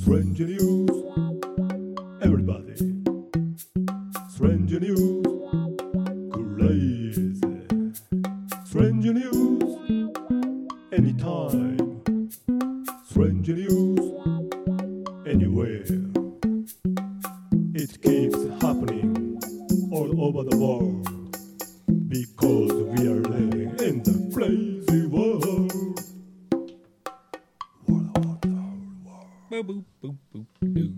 Strange news, everybody. Strange news, crazy. Strange news, anytime. Strange news, anywhere. It keeps happening all over the world because we are living in the crazy world. Boop, boop, boop, boop, boop.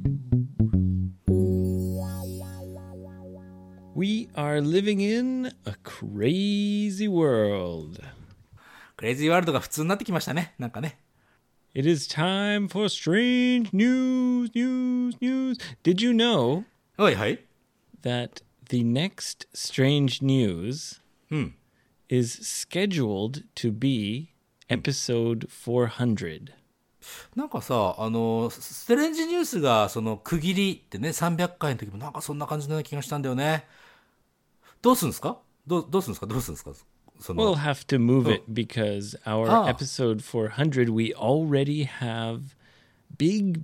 We are living in a crazy world. クレイジーワールドが普通になってきましたね。なんかね。 It is time for strange news. Did you know はいはい。 that the next strange news is scheduled to be episode 400? なんかさ、ストレンジニュースがその区切りってね、300回の時もなんかそんな感じのような気がしたんだよね。どうすんですかどうすんですかその We'll have to move it because our episode 400, we already have big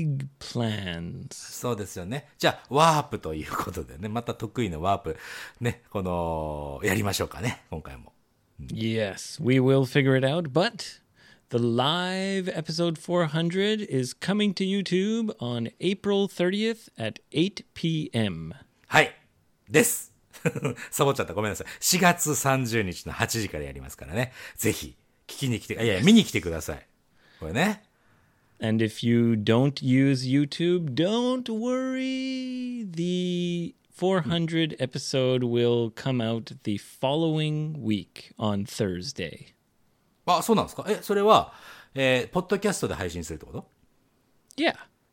plans. そうですよね。じゃあ、ワープということでね、また得意のワープ、ね、やりましょうかね、今回も。 Yes, we will figure it out, but the live episode 400 is coming to YouTube on April 30th at 8 p.m. はい。です。サボっちゃった。ごめんなさい。4月30日の8時からやりますからね。ぜひ、見に来てください。これね。 And if you don't use YouTube, don't worry. The 400 episode will come out the following week on Thursday. あ、そうなんですか。それは、ポッドキャストで配信するってこと？ Yeah.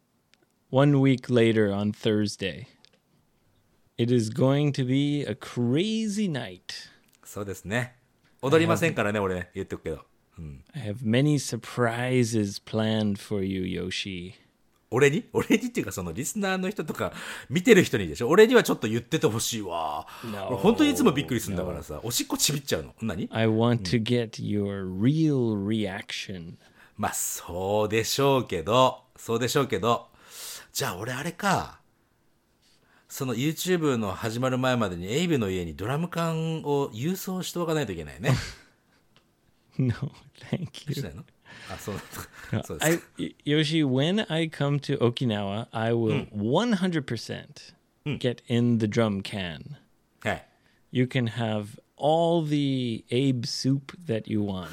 1 week later on Thursday. It is going to be a crazy night. そうですね。踊りませんからね、俺ね、言っておくけど。 I have many surprises planned for you, Yoshi. 俺にっていうか、そのリスナーの人とか、見てる人にでしょ。俺にはちょっと言っててほしいわ。俺本当にいつもびっくりするんだからさ、おしっこちびっちゃうの。何？ I want to get your real reaction. まあ、そうでしょうけど。じゃあ俺あれか。その YouTube の始まる前までにエイブの家にドラム缶を郵送しておかないといけないね。 No, thank し you. ないの？あ、そうなんだ。そうですか。 Yoshi, when I come to Okinawa, I will 100% get in the drum can. はい。 You can have all the Abe soup that you want.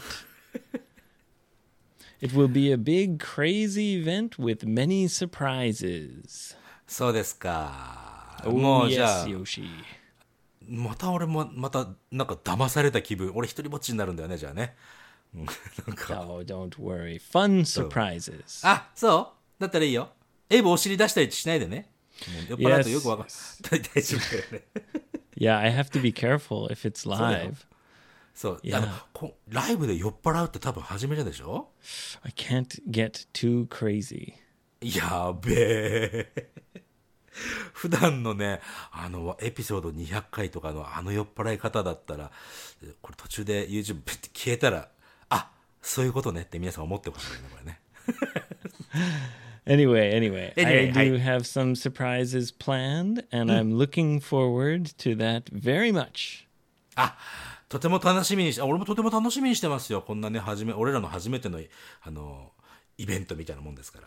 It will be a big, crazy event with many surprises. そうですか。 Oh, もうじゃあ、 yes, Yoshi. またなんか騙された気分。俺一人ぼっちになるんだよね、じゃあね。なんか。 Oh, don't worry. Fun surprises. あ、そうだったらいいよ。エイブお尻出したりしないでね。もう酔っ払うとよくわかん大丈夫だよね。 Yeah, I have to be careful if it's live. そう。 Yeah. ライブで酔っ払うって多分初めてでしょ？ I can't get too crazy. やべえ。普段のね、エピソード200回とかの酔っ払い方だったら、これ途中で YouTube ピッて消えたら、あ、そういうことねって皆さん思ってほしいね、これね。 Anyway, Anyway, I do have some surprises planned, and I'm looking forward to that very much. あ、とても楽しみにして、俺もとても楽しみにしてますよ。こんなね、俺らの初めての、イベントみたいなもんですから。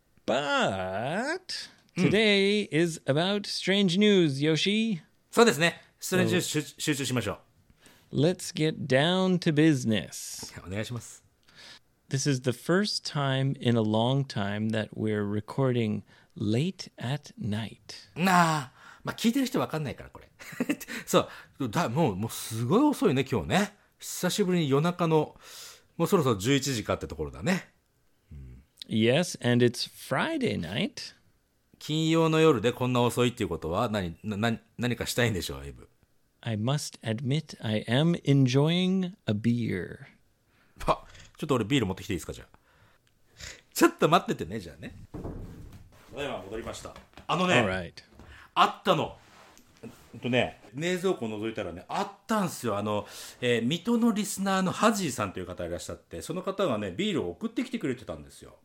But today is about strange news, Yoshi. そうですね。ストレンジ集中しましょう。 Let's get down to business. お願いします。 This is the first time in a long time that we're recording late at night. まあ聞いてる人わかんないから、これ。そう、もうすごい遅いね、今日ね。久しぶりに夜中の、もうそろそろ11時かってところだね。 Yes, and it's Friday night. 金曜の夜でこんな遅いっていうことは何かしたいんでしょう、エイブ。 I must admit I am enjoying a beer. ちょっと俺ビール持ってきていいですか、じゃあ。ちょっと待っててね、じゃあね。今戻りました。 All right. あったの。冷蔵庫を覗いたらね、あったんすよ。水戸のリスナーのハジーさんという方いらっしゃって、その方がね、ビールを送ってきてくれてたんですよ。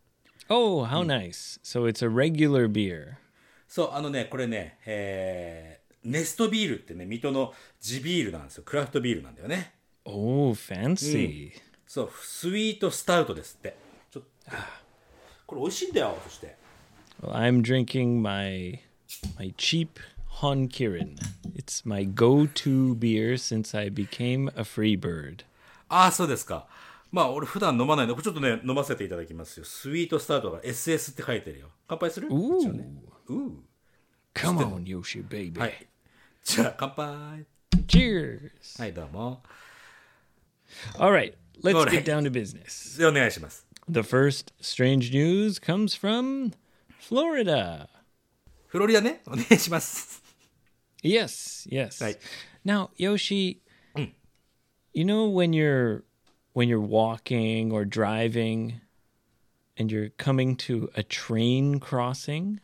Oh, how nice. So it's a regular beer. そう、これね、ネストビールってね、水戸の地ビールなんですよ。クラフトビールなんだよね。 Oh, fancy. そう、スイートスタウトですって。ちょっと、これ美味しいんだよ、そして。 Well, I'm drinking my cheap Honkirin. It's my go-to beer since I became a free bird. ああ、そうですか。まあ、俺普段飲まないので、ちょっとね、飲ませていただきますよ。スイートスタートが SS って書いてるよ。乾杯する？ 一応ね。 Come on, Yoshi, baby. はい。じゃあ、乾杯。 Cheers. はい、どうも。 All right, let's Alright. get down to business. で、お願いします。 The first strange news comes from Florida. フロリダね、お願いします。 Yes, yes. Right. Now, Yoshi, you know when you're walking or driving and you're coming to a train crossing?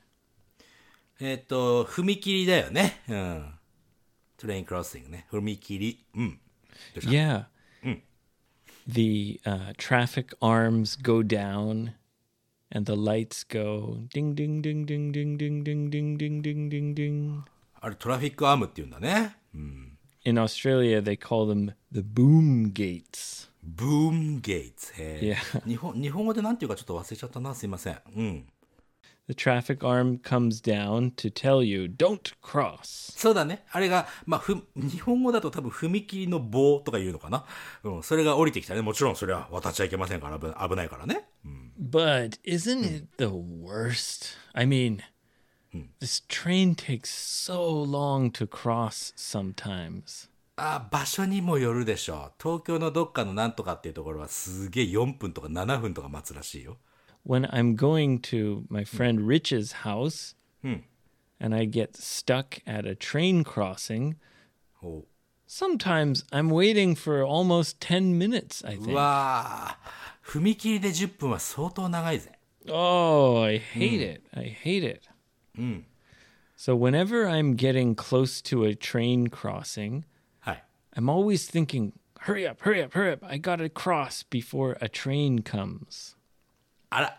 踏切だよね。うん。トレインクロッシングね。踏切。うん。 Yeah. The traffic arms go down and the lights go ding ding ding ding ding ding ding ding ding ding ding ding. あれ、トラフィックアームって言うんだね。 In Australia, they call them the boom gates. ブームゲーツ。 いや日本語でなんていうかちょっと忘れちゃったな。すいません。うん。 The traffic arm comes down to tell you, don't cross. そうだね。あれが、まあ、日本語だと多分踏切の棒とか言うのかな。うん。それが降りてきたね。もちろんそれは渡っちゃいけませんから危ないからね。うん。 But isn't it the worst? I mean, this train takes so long to cross sometimes. 場所にもよるでしょう。東京のどっかのなんとかっていうところはすげえ4分とか7分とか待つらしいよ。 When I'm going to my friend Rich's house and I get stuck at a train crossing, お sometimes I'm waiting for almost 10 minutes, I う think. わー、踏切で10分は相当長いぜ。 Oh, I hate it. I hate it. So whenever I'm getting close to a train crossing, はい。 I'm always thinking, hurry up, hurry up, hurry up. I gotta cross before a train comes. あら、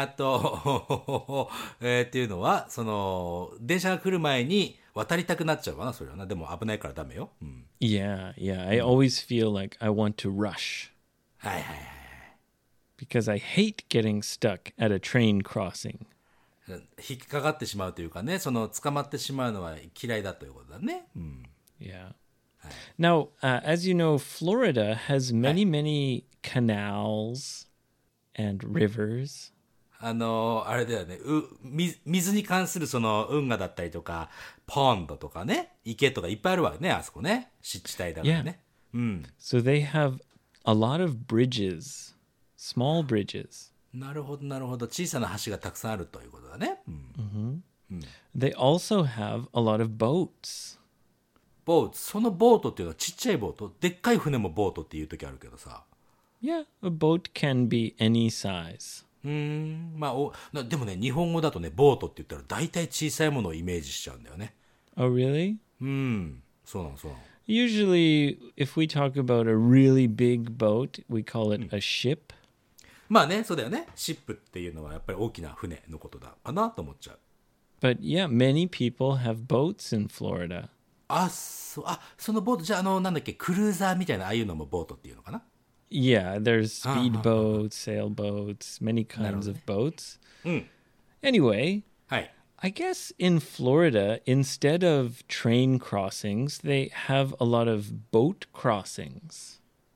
っていうのは、その、電車が来る前に渡りたくなっちゃうかな、それはな。でも危ないからダメよ。うん。 Yeah, yeah. I always feel like I want to rush はいはいはい。 because I hate getting stuck at a train crossing. 引っかかってしまうというかね、その、捕まってしまうのは嫌いだということだね。うん。 Yeah. Now, as you know, Florida has many, many canals and rivers. あれだよね。水に関するその運河だったりとか、ポンドとかね、池とかいっぱいあるわよね、あそこね。湿地帯だからね。うん。 So they have a lot of bridges, small bridges. なるほど、なるほど。小さな橋がたくさんあるということだね。うん。 They also have a lot of boats. ボート。そのボートっていうのはちっちゃいボート。でっかい船もボートっていう時あるけどさ。 Yeah, a boat can be any size. まあでもね、日本語だとね、ボートって言ったら大体小さいものをイメージしちゃうんだよね。 Oh, really? そうなの、そうなの。 Usually, if we talk about a really big boat, we call it a ship. まあね、そうだよね。シップっていうのはやっぱり大きな船のことだかなと思っちゃう。 But yeah, many people have boats in Florida. そのボート、じゃあなんだっけ、クルーザーみたいな、ああいうのもボートっていうのかな。 Yeah, there's speedboats, sailboats, many kinds of boats. Anyway, はい。 I guess in Florida, instead of train crossings, they have a lot of boat crossings.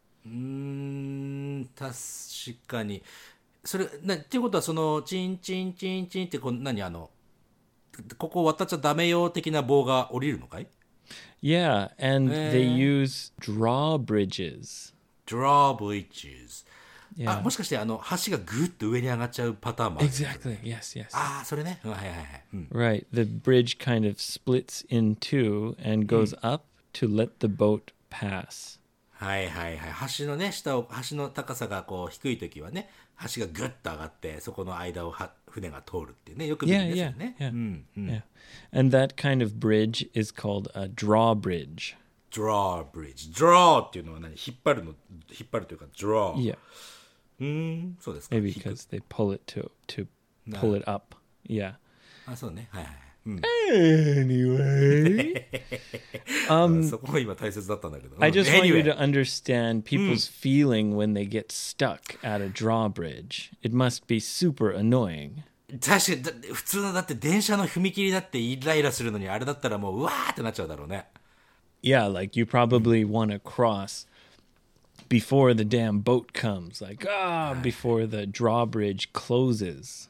確かに。それ、っていうことは、その、チンチンチンチンって、ここ渡っちゃダメよ的な棒が降りるのかい？ Yeah, and they use drawbridges. drawbridges。 Yeah. もしかして、橋がぐっと上に上がっちゃうパターンもある？ Exactly. Yes, yes. それね。はいはいはい。 Right. The bridge kind of splits in two and goes up to let the boat pass. はいはいはい。橋のね、橋の高さがこう低いときはね、橋がぐっと上がって、そこの間を船が通るっていうね、よく見るんですよね。 Yeah. And that kind of bridge is called a drawbridge. drawbridge。draw っていうのは引っ張るというか draw。 Yeah. そうですか。 Maybe because they pull it to pull it up. Yeah. あ、そうね。はいはい。うん。 Anyway, そこが今大切だったんだけど。 I just want you Anyway to understand people's feeling when they get stuck at a drawbridge. It must be super annoying. 確かに、普通のだって電車の踏切だってイライラするのに、あれだったらもう、うわーってなっちゃうだろうね。 Yeah, like you probably want to cross before the damn boat comes, like before the drawbridge closes.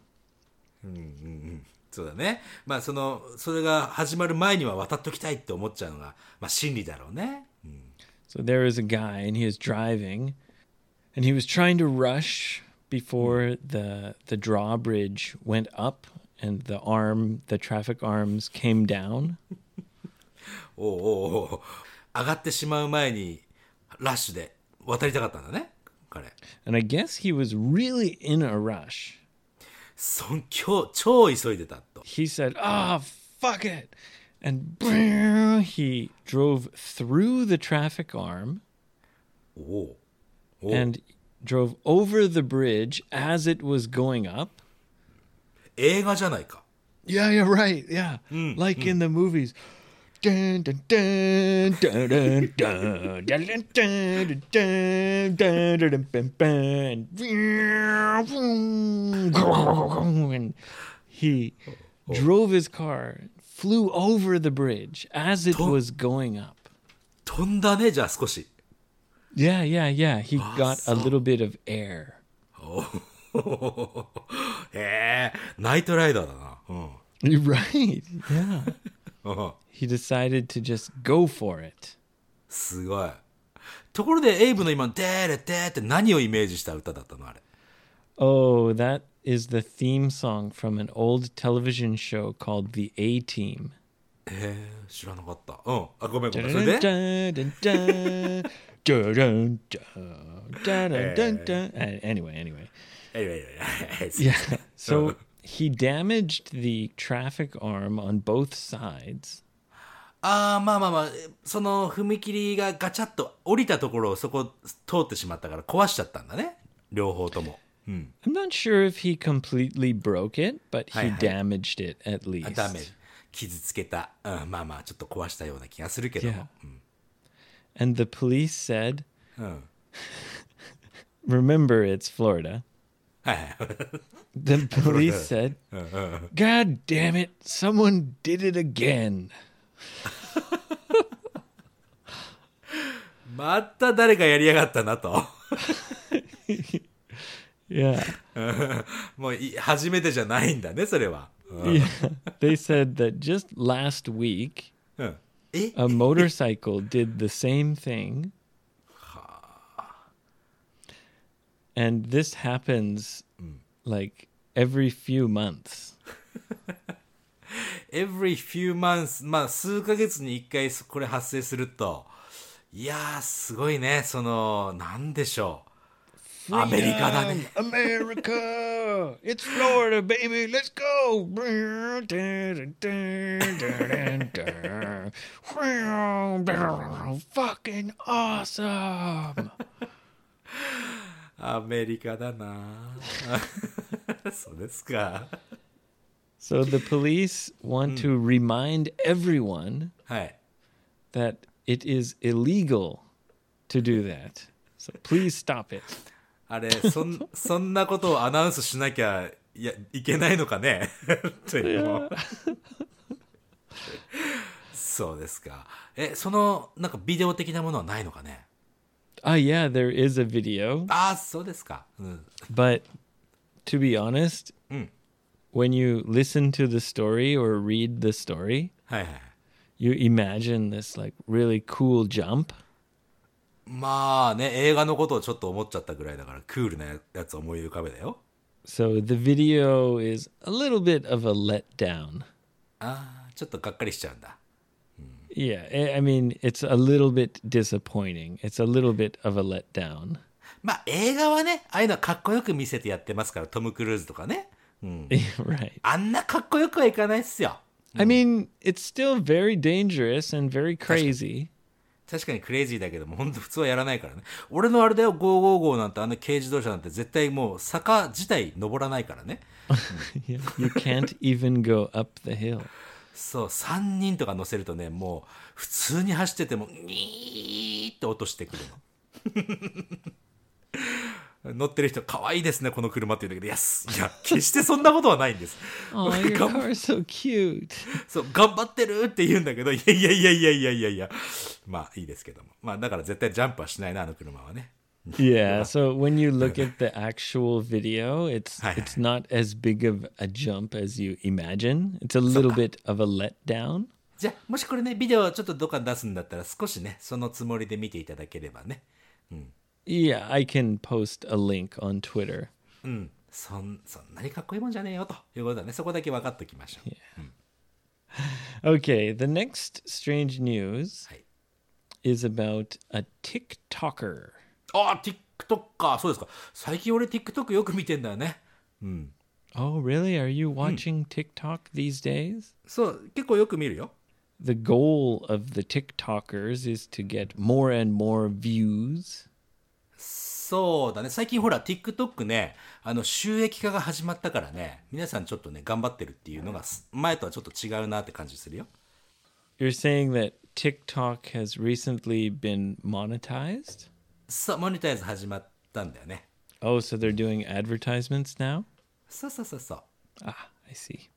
そうだね。まあそれが始まる前には渡っときたいって思っちゃうのが、まあ真理だろうね。 So there is a guy and he is driving and he was trying to rush before the drawbridge went up and the traffic arms came down. おうおうおう、上がってしまう前にラッシュで渡りたかったんだね、彼。 And I guess he was really in a rush. 超急いでたと。 He said, fuck it. And he drove through the traffic arm おうおう、 and drove over the bridge as it was going up. 映画じゃないか。 Yeah, yeah, right. Yeah. Like in the movies. Dun, dun, dun, dun, dun, dun, dun, dun, dun, dun, dun, dun, dun, dun, dun. And he drove his car, flew over the bridge as it was going up. 飛んだね、じゃあ少し。 Yeah, yeah, yeah. He got a little bit of air. へえ、ナイトライダーだな。 Right. Yeah. He decided to just go for it. すごい。ところでエイブの今、デーレデーって何をイメージした歌だったのあれ。 Oh, that is the theme song from an old television show called The A-Team. 知らなかった。あ、ごめんごめん。それで Anyway. Anyway. Yeah. So he damaged the traffic arm on both sides. まあ、その踏切がガチャッと降りたところをそこ通ってしまったから壊しちゃったんだね。両方とも。 I'm not sure if he completely broke it, but he damaged it at least. ダメ。傷つけた。まあ、ちょっと壊したような気がするけども。 And the police said, remember it's Florida. The police said, God damn it, someone did it again. また誰かやりやがったなと。 Yeah. もう初めてじゃないんだね、それは。 Yeah. They said that just last week, え a motorcycle did the same thing. And this happens like every few months. Every few months、まあ数ヶ月に一回これ発生すると、いやーすごいね、なんでしょう。アメリカだね。 America! It's Florida, baby! Let's go! Fucking awesome! アメリカだな。そうですか。 So the police want to remind everyone はい。 that it is illegal to do that. So please stop it. あれ、そんなことをアナウンスしなきゃいけないのかね。というのそうですか。なんかビデオ的なものはないのかね。 Yeah, there is a video. そうですか。 But to be honest, when you listen to the story or read the story, はいはい。 you imagine this like really cool jump. まあね、映画のことをちょっと思っちゃったぐらいだから、クールなやつを思い浮かべだよ。 So the video is a little bit of a letdown. ちょっとがっかりしちゃうんだ。 Yeah, I mean, it's a little bit disappointing. It's a little bit of a letdown. まあ映画はね、ああいうのはかっこよく見せてやってますから、トム・クルーズとかね。 Right. あんなかっこよくはいかないっすよ。 I mean, it's still very dangerous and very crazy. 確かにクレイジーだけども、本当普通はやらないからね。俺のあれだよ、555なんてあの軽自動車なんて絶対もう坂自体登らないからね。 Yeah, you can't even go up the hill. そう、3人とか乗せるとね、もう普通に走ってても、ニーって音してくるの。乗ってる人、可愛いですね、この車って言うんだけど、いや、決してそんなことはないんです。 Oh, your car's so cute. そう、頑張ってるって言うんだけど、いや。まあいいですけども。まあだから絶対ジャンプはしないな、あの車はね。 Yeah, so when you look at the actual video, it's Hi, it's not as big of a jump as you imagine. It's a little bit of a letdown. じゃあ、もしこれね、ビデオちょっとどっかに出すんだったら、少しね、そのつもりで見ていただければね。 Yeah, I can post a link on Twitter. そんなにかっこいいもんじゃねえよということだね。そこだけ分かっときましょう。 Okay, the next strange news はい。 is about a TikToker. ああ、TikTok か。そうですか。最近俺 TikTok よく見てんだよね。 Oh, really? Are you watching TikTok these days? そう、結構よく見るよ。 The goal of the TikTokers is to get more and more views. そうだね。最近ほら TikTok ね、収益化が始まったからね、皆さんちょっとね、頑張ってるっていうのが、前とはちょっと違うなって感じするよ。 You're saying that TikTok has recently been monetized? そう、モニタイズ始まったんだよね。 Oh, so they're doing advertisements now? そう。 Ah, I see.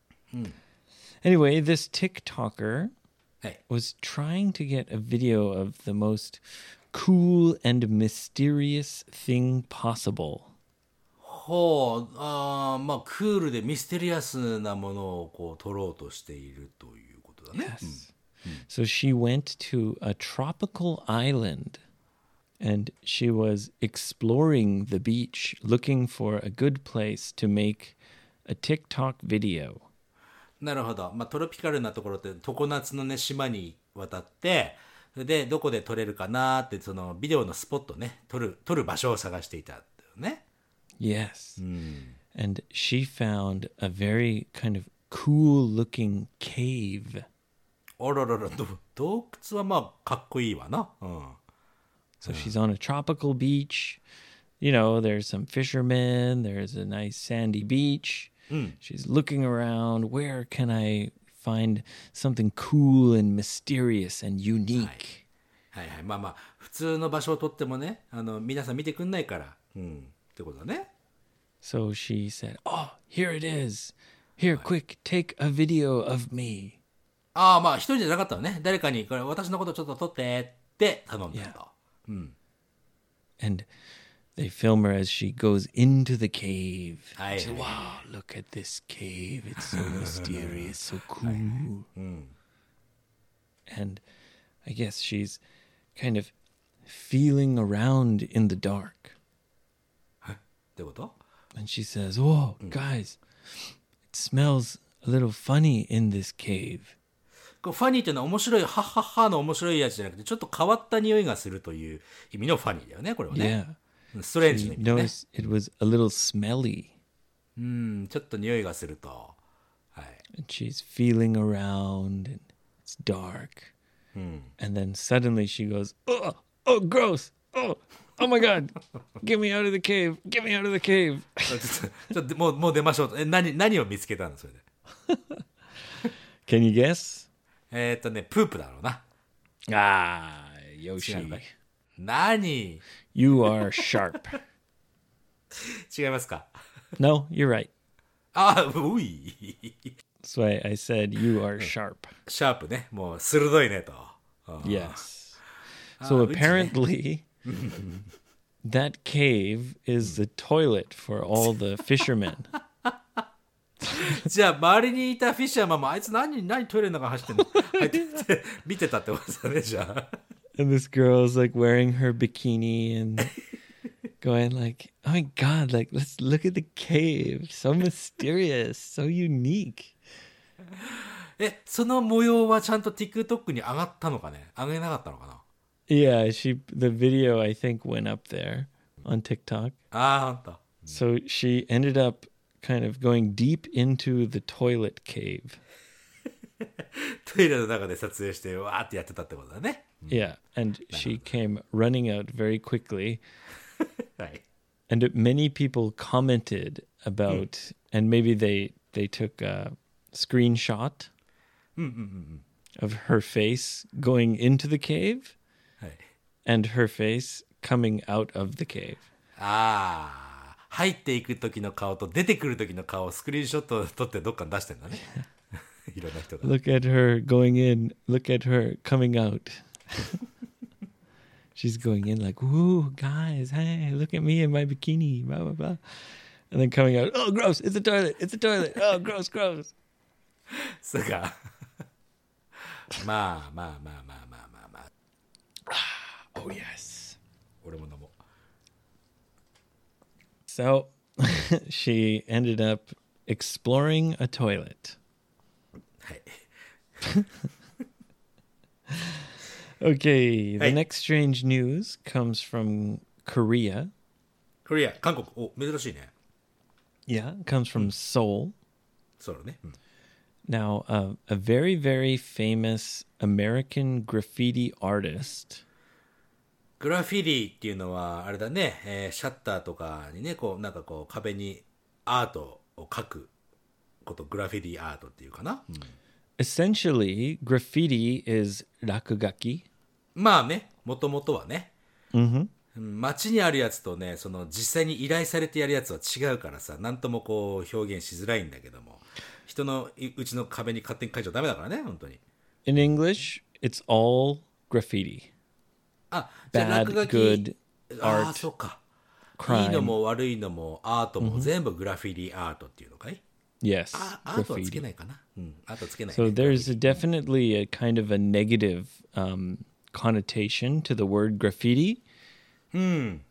Anyway, this TikToker はい。 was trying to get a video of the most cool and mysterious thing possible. ほう、まあ、クールでミステリアスなものをこう撮ろうとしているということだね。 Yes. So she went to a tropical island and she was exploring the beach looking for a good place to make a TikTok video. なるほど。まあ、トロピカルなところって常夏のね、島に渡って、で、どこで撮れるかなって、そのビデオのスポットね、撮る場所を探していたんだよね。 Yes. And she found a very kind of cool looking cave. あららら、洞窟はまあ、かっこいいわな。 So she's on a tropical beach. You know, there's some fishermen, there's a nice sandy beach. She's looking around. Where can I find something cool and mysterious and unique? はい。まあ、普通の場所を撮ってもね、皆さん見てくんないから。ってことだね。 So she said, "Oh, here it is. Here, quick, take a video of me." ああ、まあ、一人じゃなかったのね。誰かに、これ私のことちょっと撮ってって頼んだと。 And they film her as she goes into the cave. Aye, She said, aye, wow, look at this cave. It's so mysterious, so cool. And I guess she's kind of feeling around in the dark. ってこと？ And she says, whoa, guys, it smells a little funny in this cave. こうファニーっていうのは面白い、はっはっはの面白いやつじゃなくて、ちょっと変わった匂いがするという意味のファニーだよね、これはね。 Yeah. ストレンジの She 意味だね。 noticed it was a little smelly. ちょっと匂いがすると。はい。 And she's feeling around and it's dark. And then suddenly she goes, oh, gross. Oh my God. Get me out of the cave. Get me out of the cave. ちょっともう出ましょう。何を見つけたのそれで。 Can you guess? プープだろうな。 Ah, 違う Yoshi. のかい？何？ You are sharp. 違いますか？ No, you're right. うい。 That's why I said you are sharp. シャープね。もう鋭いねと。 Yes. So which- apparently, that cave is the toilet for all the fishermen. じゃあ周りにいたフィッシャーマンもあいつ何トイレの中走ってんの入ってって見てたってことだねじゃあ。 And this girl's like wearing her bikini and going like, oh my God, like, let's look at the cave. So mysterious, so unique. その模様はちゃんと TikTok に上がったのかね？上げなかったのかな？ Yeah, the video, I think, went up there on TikTok. ほんと。 So she ended up kind of going deep into the toilet cave. トイレの中で撮影してわーってやってたってことだね。 Yeah, and she came running out very quickly. はい。 And many people commented about, and maybe they took a screenshot of her face going into the cave はい。 and her face coming out of the cave. ああ、入っていく時の顔と出てくる時の顔をスクリーンショット撮ってどっかに出してんだね。いろんな人が。 Look at her going in, look at her coming out. She's going in like, "Woo, guys, hey, look at me in my bikini, blah, blah, blah." And then coming out, "Oh, gross, it's a toilet, it's a toilet. Oh, gross, gross." そうか。まあまあまあまあまあまあまあ。 Oh, yes. 俺も飲もう。 So she ended up exploring a toilet. はい。 Okay, the Hey. next strange news comes from Korea. コリア、韓国。お、珍しいね。 Yeah, it comes from Seoul. そうだね。うん。 Now, a very, very famous American graffiti artist. グラフィティっていうのは、あれだね、シャッターとかにね、こう、なんかこう、壁にアートを描くこと、グラフィティアートっていうかな。うん、 Essentially, graffiti is rakugaki. まあね、もともとはね、 Mm-hmm. 街にあるやつとね、その実際に依頼されてやるやつは違うからさ、なんともこう表現しづらいんだけども、人のうちの壁に勝手に書いちゃダメだからね、本当に。 In English, it's all graffiti. あ、じゃあ Bad, 落書き、 good, ああ、 art, そうか。 crime. いいのも悪いのもアートも全部グラフィティアートっていうのかい？ Yes, アートはつけ graffiti. ないかな。うん、アートつけない、 So ね。 there's definitely a kind of a negative connotation to the word graffiti. うん。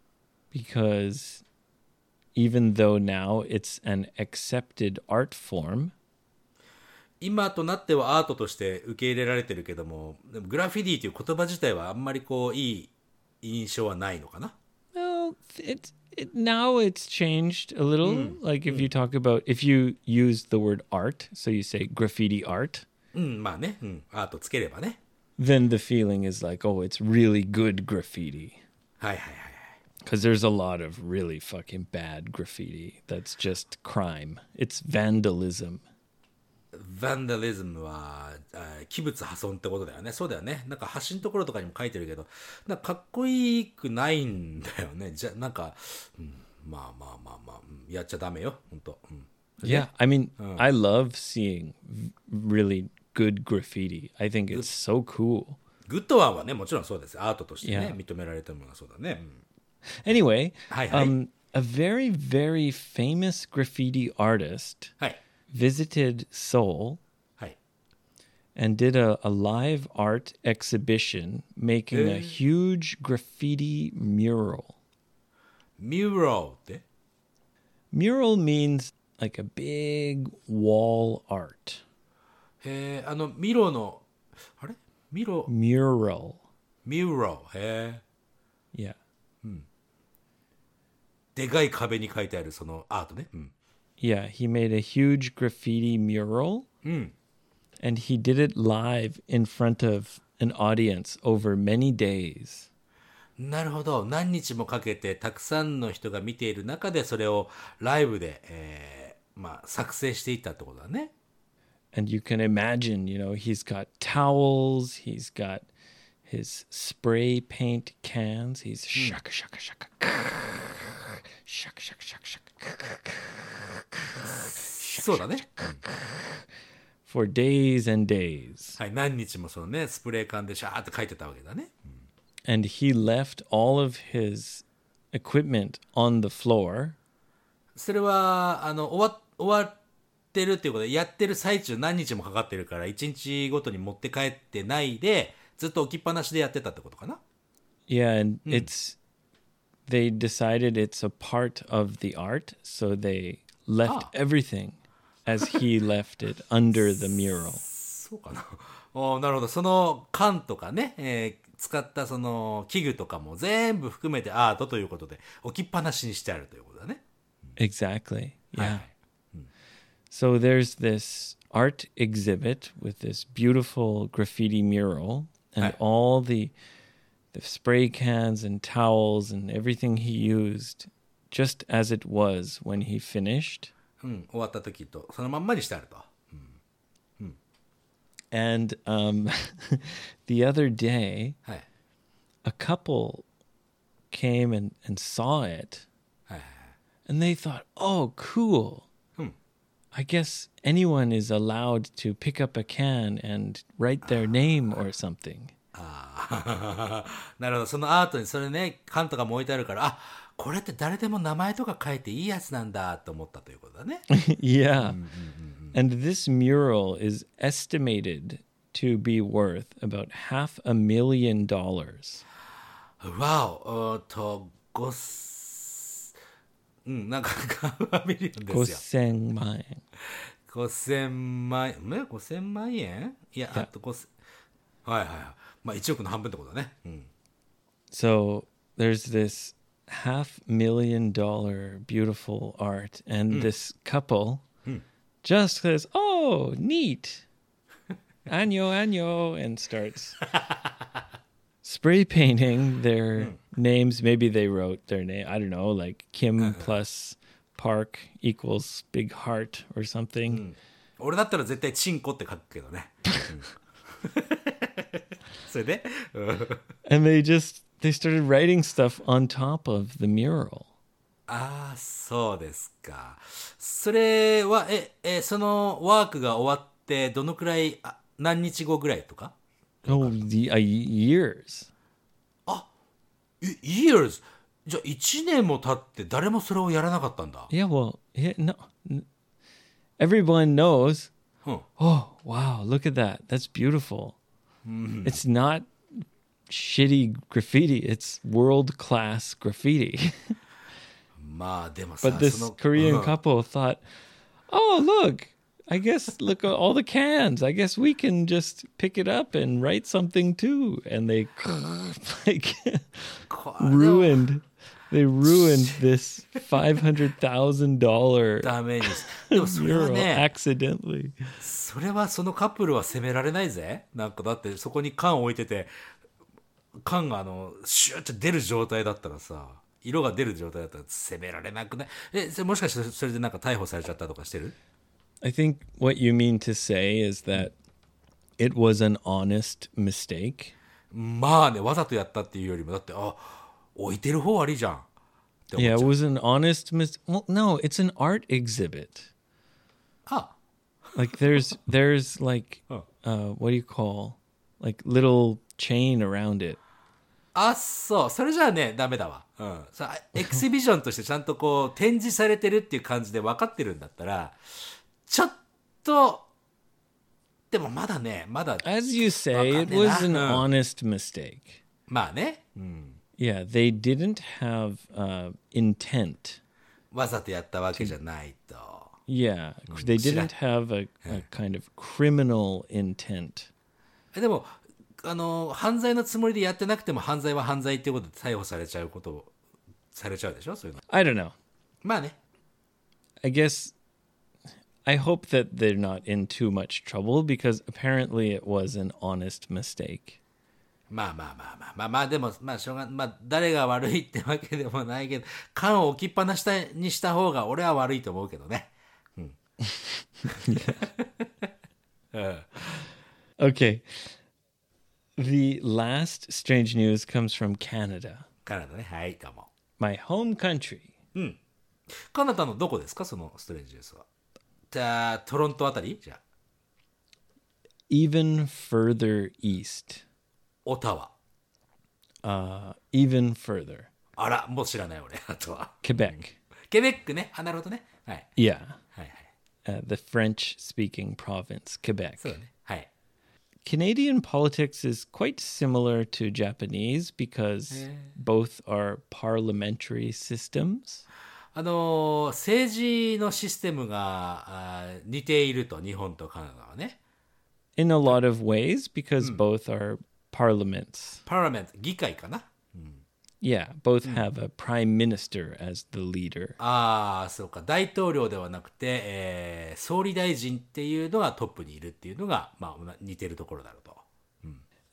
Because even though now it's an accepted art form, 今となってはアートとして受け入れられてるけども、でもグラフィティという言葉自体はあんまりこういい印象はないのかな。 well, now it's changed a little. Like if you talk about, if you use the word art, so you say graffiti art, うん、まあね、うん、アートつければね。 then the feeling is like, oh, it's really good graffiti. はいはいはいはい。 Because there's a lot of really fucking bad graffiti that's just crime. It's vandalism. ヴァンダリズムは器物破損ってことだよね。そうだよね。なんか橋のところとかにも書いてるけど、なんかかっこいくないんだよね。じゃなんか、うん、まあまあまあまあ、うん、やっちゃダメよ、本当。うん、 Yeah, I mean, I love seeing really good graffiti. I think it's so cool. グッドワンはね、もちろんそうです。アートとしてね、 Yeah. 認められてるものはそうだね。うん、 Anyway, はいはい。 a very, very famous graffiti artist はい。 visited Seoul はい。 and did a live art exhibition making a huge graffiti mural. ミューラルって Mural means like a big wall art. へえ、ミロの、あれミロ、 Mural. ミューラル。へえ。 Yeah. でかい壁に書いてあるそのアートね。うん。 Yeah, he made a huge graffiti mural うん。 and he did it live in front of an audience over many days. なるほど。何日もかけてたくさんの人が見ている中でそれをライブで、まあ、作成していったってことだね。 And you can imagine, you know, he's got towels, he's got his spray paint cans, he's shaka shaka shaka shaka shaka shaka shaka そうだね。 for days and days. はい。何日もそのね、スプレー缶でシャーって書いてたわけだね。 And he left all of his equipment on the floor. それは、終わってるっていうことで、やってる最中何日もかかってるから、1日ごとに持って帰ってないで、ずっと置きっぱなしでやってたってことかな。 Yeah, and they decided it's a part of the art, so they left everything as he left it under the mural. そうかな。なるほど。その缶とかね、使ったその器具とかも全部含めてアートということで置きっぱなしにしてあるということだね。 Exactly. はい Yeah. So there's this art exhibit with this beautiful graffiti mural, and Right. all the spray cans and towels and everything he used, just as it was when he finished. 終わった時とそのまんまにしてあると。 And the other day, はい。 a couple came and saw it, はいはいはい。 and they thought, "Oh, cool! I guess anyone is allowed to pick up a can and write their name or something." なるほど。そのアートにそれね、缶とかも置いてあるから、あ、これって誰でも名前とか書いていいやつなんだと思ったということだね。 Yeah. And this mural is estimated to be worth about $500,000. わお、なんかファミリオンですよ。 5000万円。 5000万円、5000万円いや、あと5000、はいはいはい。まあ1億の半分ってことだね。 So there's this $500,000 beautiful art, and this couple just says, "Oh, neat. Año, año," and starts spray painting their names. Maybe they wrote their name. I don't know, like Kim plus Park equals big heart or something. 俺だったら絶対チンコって書くけどね。それで、 And they started writing stuff on top of the mural. ああ、そうですか。それは、そのワークが終わって、どのくらい、何日後ぐらいとか Oh, years. years? じゃあ1年も経って誰もそれをやらなかったんだ。 Yeah, well, no. Everyone knows. Huh. Oh, wow, look at that. That's beautiful. It's not shitty graffiti. It's world-class graffiti. まあでもさ、 But this Korean couple thought, "Oh, look. Look at all the cans. I guess we can just pick it up and write something too." And they like ruined this $500,000 ダメに。でもそれは mural ね、 accidentally. それはそのカップルは責められないぜ。なんかだってそこに缶置いてて、缶がシューって出る状態だったらさ、色が出る状態だったら責められなくない？もしかしてそれでなんか逮捕されちゃったとかしてる？ I think what you mean to say is that it was an honest mistake. まあね、わざとやったっていうよりも、だって、置いてる方悪いじゃん。って思っ Yeah, ち it ゃう。 was an honest mistake. Well, no, it's an art exhibit. あ、 Like there's like what do you call like little chain around it. そう。それじゃあね、ダメだわ。さあ、エキシビジョンとしてちゃんとこう、展示されてるっていう感じで分かってるんだったら、ちょっと、でもまだね、まだ、 As you say, it was an honest mistake. まあね、 Yeah, they didn't have intent. わざとやったわけじゃないと。 Yeah, they didn't have a kind of criminal intent. でも、犯罪のつもりでやってなくても犯罪は犯罪っていうことで逮捕されちゃうでしょそういうの。 I don't know. まあね。 I guess I hope that they're not in too much trouble because apparently it was an honest mistake. まあ、でも、まあ、しょうが、まあ、誰が悪いってわけでもないけど、缶を置きっぱなしにした方が俺は悪いと思うけどね。 Okay. The last strange news comes from Canada, カナダね。はい、どうも。 my home country. カナダのどこですかそのストレンジニュースは。じゃあ、トロントあたりじゃあ、 Even further east. オタワ。 Even further. あら、もう知らない俺、あとは。 Quebec. ケベックね。なるほどね。はい。 Yeah. はいはい。 The French speaking province, Quebec. そうだね。はい。 Canadian politics is quite similar to Japanese because both are parliamentary systems. 政治のシステムが似ていると、日本とカナダはね。 In a lot of ways because both are parliaments. パーラメント、議会かな。 Yeah, both have a prime minister as the leader. そうか。大統領ではなくて、総理大臣っていうのがトップにいるっていうのが、まあ、似てるところだろうと。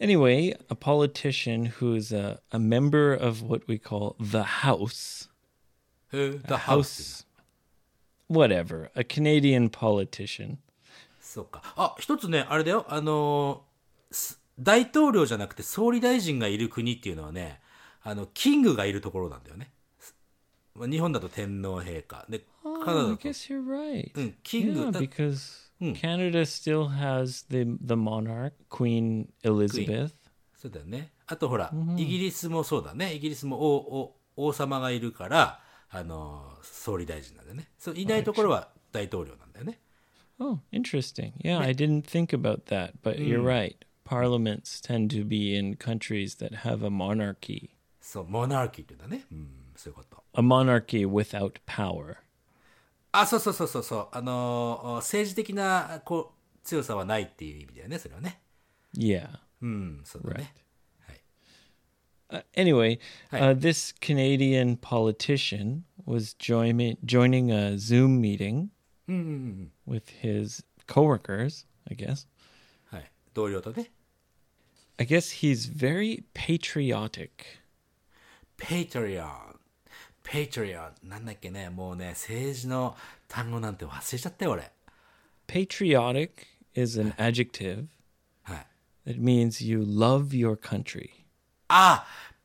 Anyway, a politician who's a member of what we call the House. The House. Whatever. A Canadian politician. そうか。あ、一つね、あれだよ。大統領じゃなくて総理大臣がいる国っていうのはね、キングがいるところなんだよね。日本だと天皇陛下。で、カナダ Oh, だ I と、 guess you're right. キング Yeah, だ。 because Canada still has the monarch, Queen Elizabeth. そうだよね。あとほら、イギリスもそうだね。イギリスも王様がいるから、総理大臣なんだよね。そういないところは大統領なんだよね。 Oh, interesting. Yeah, I didn't think about that, but you're right. Parliaments tend to be in countries that have a monarchy. そう、モナーキーって言うんだね。うん、そういうこと。 A monarchy without power. あ、そう。政治的な強さはないっていう意味だよね、それはね。 Yeah. うん、そうだね。はい。 Anyway, Hi. this Canadian politician was joining a Zoom meeting with his coworkers, I guess. はい。同僚とね。 I guess he's very patriotic. ペイトリオン。なんだっけね、もうね、政治の単語なんて忘れちゃったよ、俺。 Patriotic is an adjective はい。 that means you love your country. あ、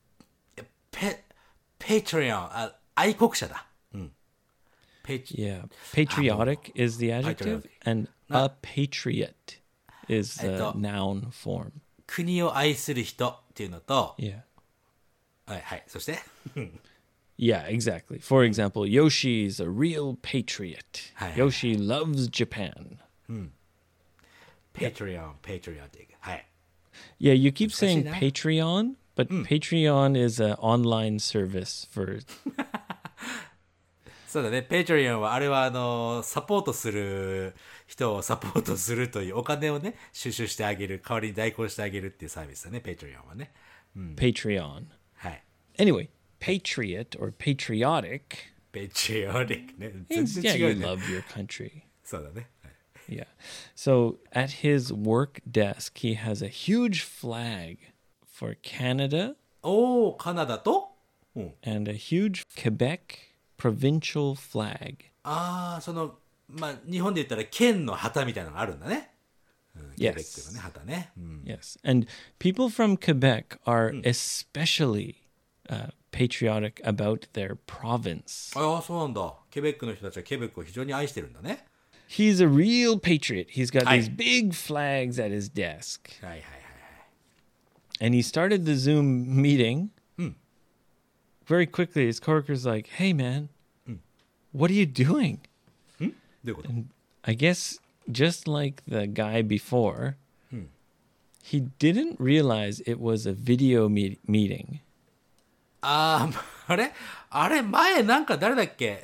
ペイトリオン、愛国者だ。うん。 Yeah. Patriotic is the adjective, patriotic. and a patriot is the えっと、 noun form. 国を愛する人っていうのと、 Yeah. はい。そして、 Yeah, exactly. For example, Yoshi's a real patriot. Hi, hi, Yoshi loves Japan. ペイトリオン、ペイトリオティック。はい。 Yeah, you keep saying 難しいな。 Patreon, but Patreon is an online service for そうだね、ペイトリオンは、あれはサポートする人をサポートするというお金をね、収集してあげる、代わりに代行してあげるっていうサービスだね、ペイトリオンはね。 Patreon. はい。 Anyway, patriot or patriotic ペイトリオティックね。全 means, 然 yeah, 違 you うね。 love your country. そうだね。はい Yeah. So at his work desk, he has a huge flag for Canada おー、カナダと、 and a huge Quebec provincial flag. まあ、日本で言ったら県の旗みたいなのがあるんだね。ケ Yes. ベックのね、旗ね。 Yes. And people from Quebec are especially patriotic about their province. ああ、そうなんだ。ケベックの人たちはケベックを非常に愛してるんだね。 He's a real patriot. He's got Hi. these big flags at his desk. はいはいはい。 And he started the Zoom meeting. Very quickly, his coworker's like, "Hey, man, what are you doing?" どういうこと？ I guess just like the guy before, he didn't realize it was a video meeting. あれ前なんか誰だっけ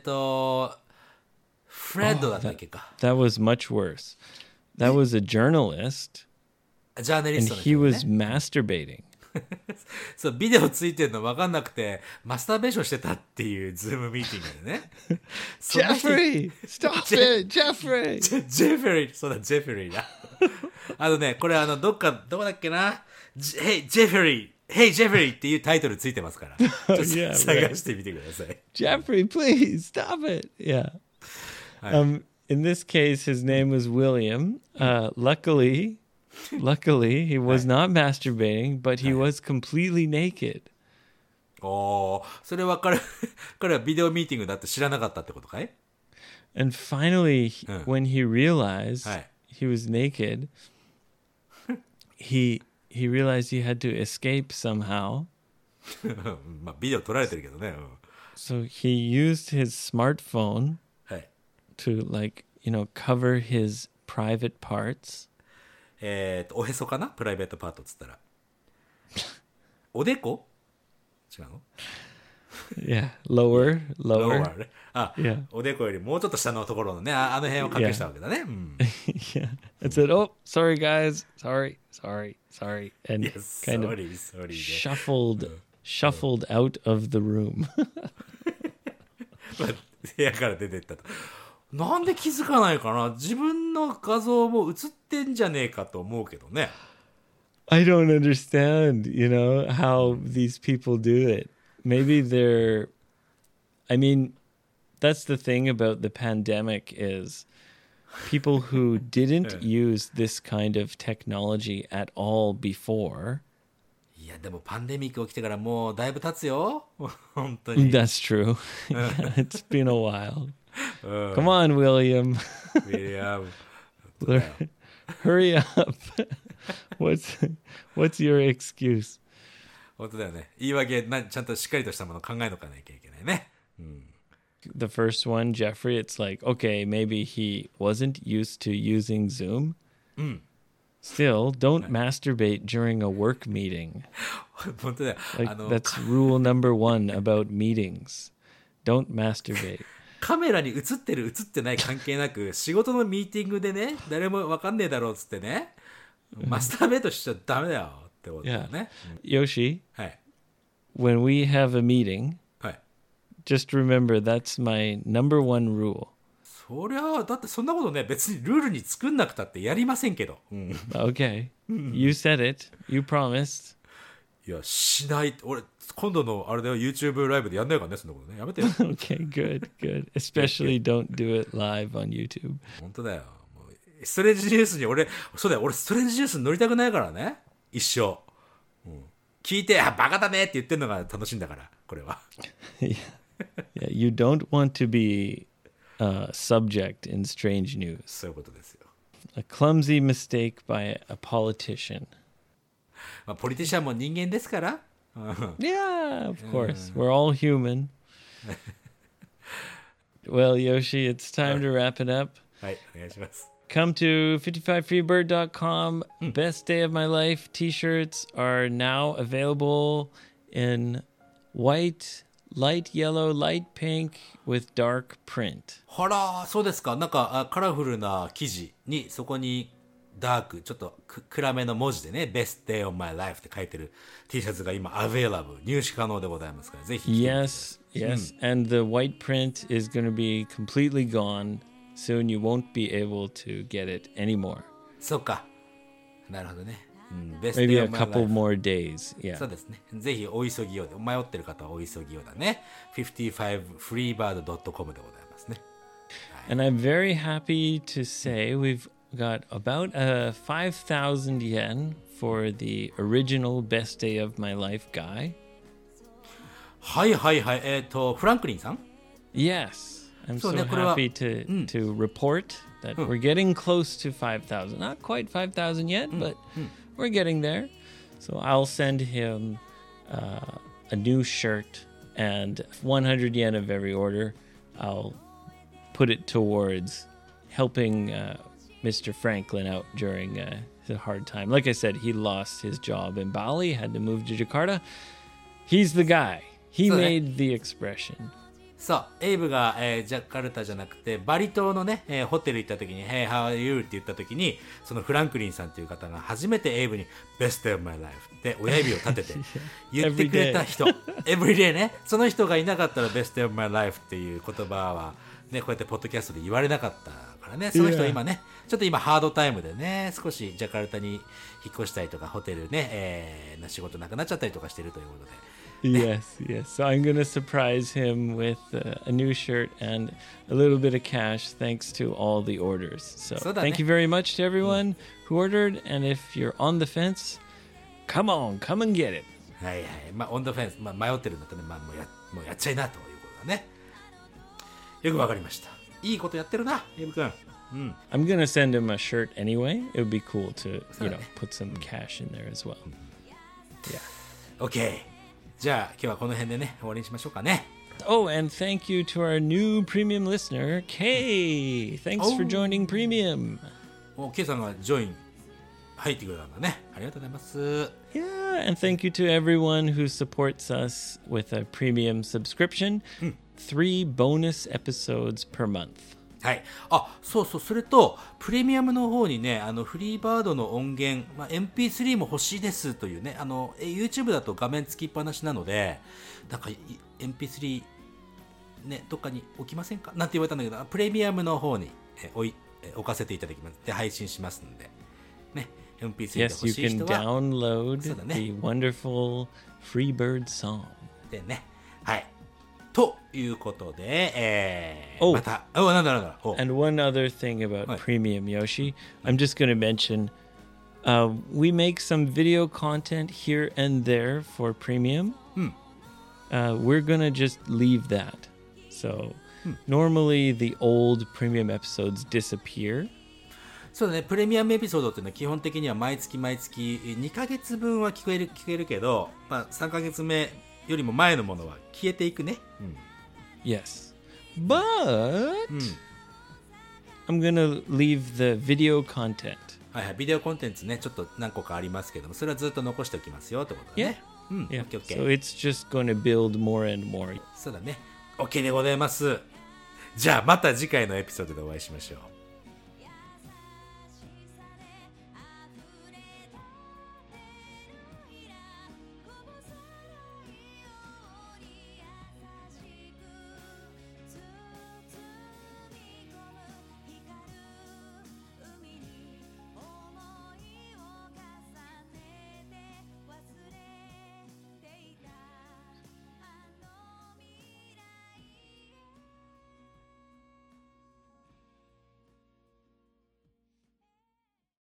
フレッドだったっけか。 That was much worse. That was a journalist, ジャーナリ and ストの he 人、 was ね。 masturbating. そう、ビデオついてるの分かんなくて、マスターベーションしてたっていうズームミーティングでね。そんな人 Jeffrey, stop it, Jeffrey. ジェフリー、そうだ、ジェフリーだ。これどこだっけな。Hey, ジェフリー。Hey, ジェフリーっていうタイトルついてますから。ちょっと Yeah, right. 探してみてください。 Jeffrey, please stop it. Yeah. In this case, his name was William. Luckily, he was not masturbating, but he was completely naked. おー、それは彼はビデオミーティングだって知らなかったってことかい？ And finally, when he realized Hi. he was naked, he realized he had to escape somehow. まあ、ビデオ撮られてるけどね。 So he used his smartphone はい。 to, like, cover his private parts. おへそかな？プライベートパートっつったら。おでこ？違うの？ Yeah, lower. ね。 Yeah. おでこよりもうちょっと下のところのね、あの辺を隠したわけだね。 Yeah. It said, "Oh, sorry, guys. Sorry." And Yes, kind of sorry. shuffled out of the room. 部屋から出てったと。なんで気づかないかな？自分の画像も映ってんじゃねえかと思うけどね。 I don't understand, how these people do it. Maybe I mean, that's the thing about the pandemic is people who didn't use this kind of technology at all before. いやでもパンデミック起きてからもうだいぶ経つよ本当に。 That's true. Yeah, it's been a while. Come on, William. ウィリアム Hurry up. What's your excuse? 本当だよね。言い訳ちゃんとしっかりとしたものを考えとかなきゃいけないね。 The first one, Jeffrey, it's like, okay, maybe he wasn't used to using Zoom. Still, don't masturbate during a work meeting. 本当だよ。 Like, that's rule number 1 about meetings. Don't masturbate. カメラに映ってる映ってない関係なく仕事のミーティングでね誰もわかんねえだろうっつってねマスターベートしちゃダメだよってことだよね。 Yoshi, はい when we have a meeting, はい。 just remember that's my number 1 rule. そりゃだってそんなことね別にルールに作んなくたってやりませんけど。 Okay. You said it. You promised. いやしない俺今度のあれだよ YouTube ライブでやんないからねそんなことねやめてよ。 Okay, good. Especially don't do it live on YouTube. 本当だよ。もうストレンジニュースに俺そうだよ俺ストレンジニュースに乗りたくないからね一生。聞いてバカだねって言ってんのが楽しいんだからこれは。 Yeah, you don't want to be a subject in strange news. そういうことですよ。 A clumsy mistake by a politician. まあポリティシャンも人間ですから。 Yeah, of course. We're all human. Well, Yoshi, it's time to wrap it up. はいお願いします。 Come to 55freebird.com. Best day of my life t-shirts are now available in white, light yellow, light pink with dark print. ほらそうですかなんかカラフルな生地にそこにダークちょっと暗めの文字でね Best Day of My Life って書いてる T シャツが今 available 入手可能でございますからぜひ着てみてください。 Yes. And the white print is going to be completely gone. Soon you won't be able to get it anymore. そうかなるほどね。Best Maybe Day a of My couple Life more days. Yeah. そうですねぜひお急ぎようで迷ってる方はお急ぎようだね 55freebird.com でございますね。 And I'm very happy to say we've got about 5,000 yen for the original Best Day of My Life guy. はいはいはいフランクリンさん Yes. I'm so そうね、これは、 happy to report that we're getting close to 5,000. Not quite 5,000 yet, but we're getting there. So I'll send him a new shirt and 100 yen of every order. I'll put it towards helping Mr. Franklin out during a hard time. Like I said, he lost his job in Bali, had to move to Jakarta. He's the guy. He So, made the expression. そうエイブが、ジャカルタじゃなくてバリ島のね、ホテル行った時に「Hey, how are you?」って言った時にそのフランクリンさんという方が初めてエイブに「Best day of my life」って親指を立てて言ってくれた人エブリデイねその人がいなかったら「Best day of my life」っていう言葉はねこうやってポッドキャストで言われなかったからねその人は今ねちょっと今ハードタイムでね少しジャカルタに引っ越したりとかホテルね、仕事なくなっちゃったりとかしてるということで Yes. So I'm going to surprise him with a new shirt and a little bit of cash thanks to all the orders. So thank you very much to everyone who ordered. And if you're on the fence, come and get it. はいはいまあオンドフェンス、迷ってるんだったら、もうやっちゃいなということだねよくわかりましたいいことやってるなエイブ君 I'm going to send him a shirt anyway. It would be cool to, put some cash in there as well. Yeah. OKじゃあ今日はこの辺でね終わりにしましょうかね Oh, and thank you to our new premium listener, Kay. Thanks for joining premium. K さんがジョイン入ってくれたんだねありがとうございます Yeah, and thank you to everyone who supports us with a premium subscription. 3 bonus episodes per month. はいそうそれとプレミアムの方にねフリーバードの音源、MP3 も欲しいですというねYouTube だと画面つきっぱなしなのでなんか MP3 ねどっかに置きませんかなんて言われたんだけどプレミアムの方に置かせていただきますで配信しますのでね MP3 で Yes, 欲 you しい can 人は download そうだね。 the wonderful Freebird song. でね。はい。ということで、 おまた、なんだ。 And one other thing about What? Premium, Yoshi, I'm just going to mention we make some video content here and there for Premium. We're going to just leave that. So normally the old Premium episodes disappear. そうだね、プレミアムエピソードっていうのは基本的には毎月2ヶ月分は聞けるけど、まあ、3ヶ月目よりも前のものは消えていくね。 Yes. But I'm going to leave the video content. はいはい、ビデオコンテンツね、ちょっと何個かありますけども、それはずっと残しておきますよってことだね。 Yeah. OK。 So it's just going to build more and more. そうだね。OK でございます。じゃあまた次回のエピソードでお会いしましょう。